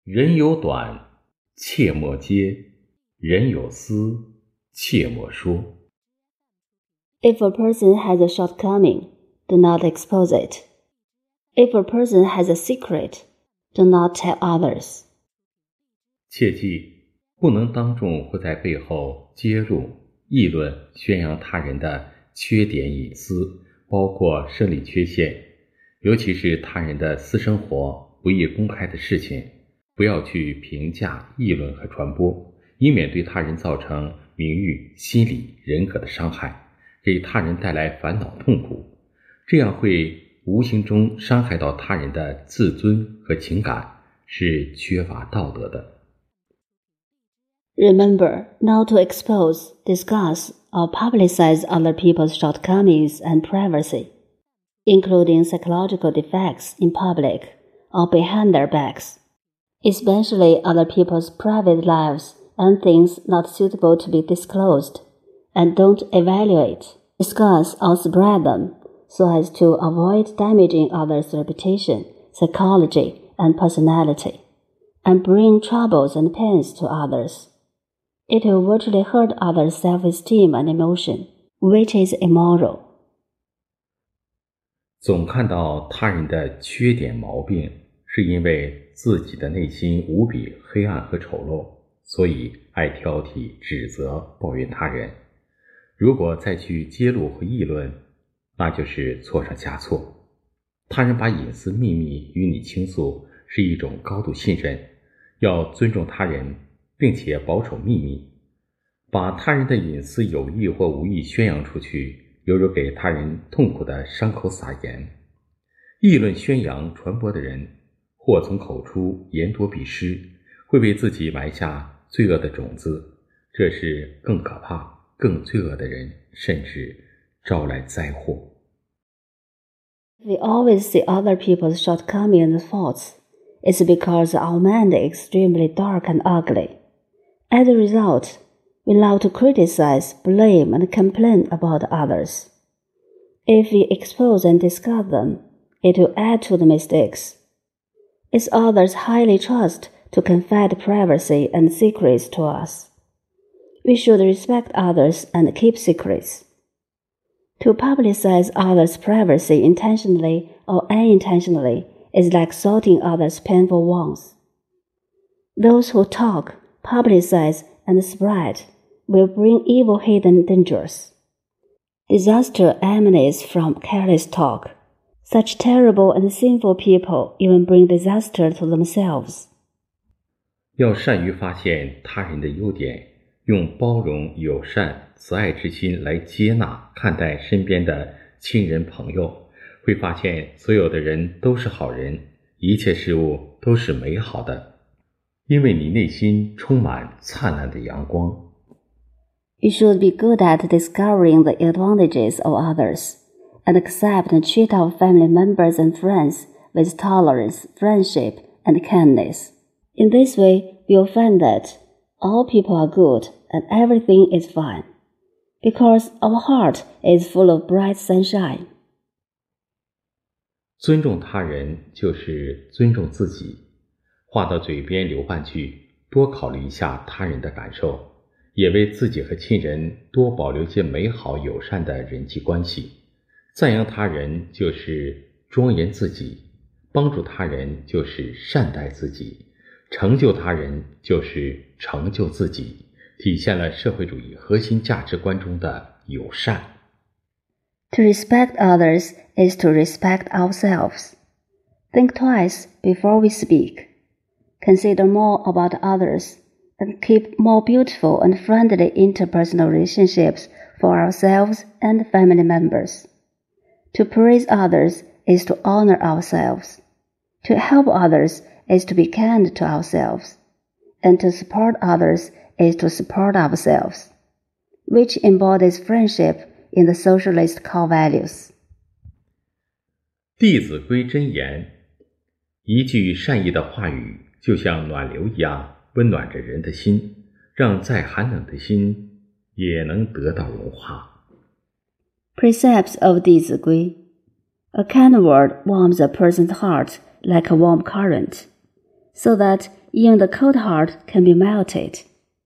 人有短，切莫揭；人有私，切莫说。 If a person has a shortcoming, do not expose it. If a person has a secret, do not tell others. 切记，不能当众或在背后揭露、议论、宣扬他人的缺点隐私，包括生理缺陷，尤其是他人的私生活、不易公开的事情，不要去评价、议论和传播，以免对他人造成名誉、心理、人格的伤害，给他人带来烦恼痛苦，这样会无形中伤害到他人的自尊和情感，是缺乏道德的。 Remember not to expose, discuss, or publicize other people's shortcomings and privacy, including psychological defects in public or behind their backs, especially other people's private lives and things not suitable to be disclosed, and don't evaluate, discuss, or spread them so as to avoid damaging others' reputation, psychology, and personality, and bring troubles and pains to others. It will virtually hurt others' self-esteem and emotion, which is immoral. 总看到他人的缺点毛病，是因为自己的内心无比黑暗和丑陋，所以爱挑剔、指责、抱怨他人。如果再去揭露和议论，那就是错上加错。他人把隐私秘密与你倾诉，是一种高度信任，要尊重他人，并且保守秘密。把他人的隐私有意或无意宣扬出去，犹如给他人痛苦的伤口撒盐。议论、宣扬、传播的人，祸从口出，言多必失，会为自己埋下罪恶的种子，这是更可怕、更罪恶的人，甚至招来灾祸。 We always see other people's shortcomings and faults. It's because our mind is extremely dark and ugly. As a result, we love to criticize, blame, and complain about others. If we expose and discuss them, it will add to the mistakes. It's others' highly trust to confide privacy and secrets to us. We should respect others and keep secrets. To publicize others' privacy intentionally or unintentionally is like salting others' painful wounds. Those who talk, publicize, and spread will bring evil hidden dangers. Disaster emanates from careless talk. Such terrible and sinful people even bring disaster to themselves. 要善于发现他人的优点，用包容、友善、慈爱之心来接纳、看待身边的亲人朋友，会发现所有的人都是好人，一切事物都是美好的，因为你内心充满灿烂的阳光。 You should be good at discovering the advantages of others, and accept and treat our family members and friends with tolerance, friendship, and kindness. In this way, you'll find that all people are good and everything is fine, because our heart is full of bright sunshine. 尊重他人就是尊重自己，话到嘴边留半句，多考虑一下他人的感受，也为自己和亲人多保留些美好友善的人际关系。赞扬他人就是庄严自己，帮助他人就是善待自己，成就他人就是成就自己，体现了社会主义核心价值观中的友善。 To respect others is to respect ourselves. Think twice before we speak. Consider more about others and keep more beautiful and friendly interpersonal relationships for ourselves and family members. To praise others is to honor ourselves. To help others is to be kind to ourselves. And to support others is to support ourselves, which embodies friendship in the socialist core values. 弟子规真言，一句善意的话语就像暖流一样温暖着人的心，让再寒冷的心也能得到融化。 Precepts of 弟子规. A kind word warms a person's heart like a warm current. so that even the cold heart can be melted.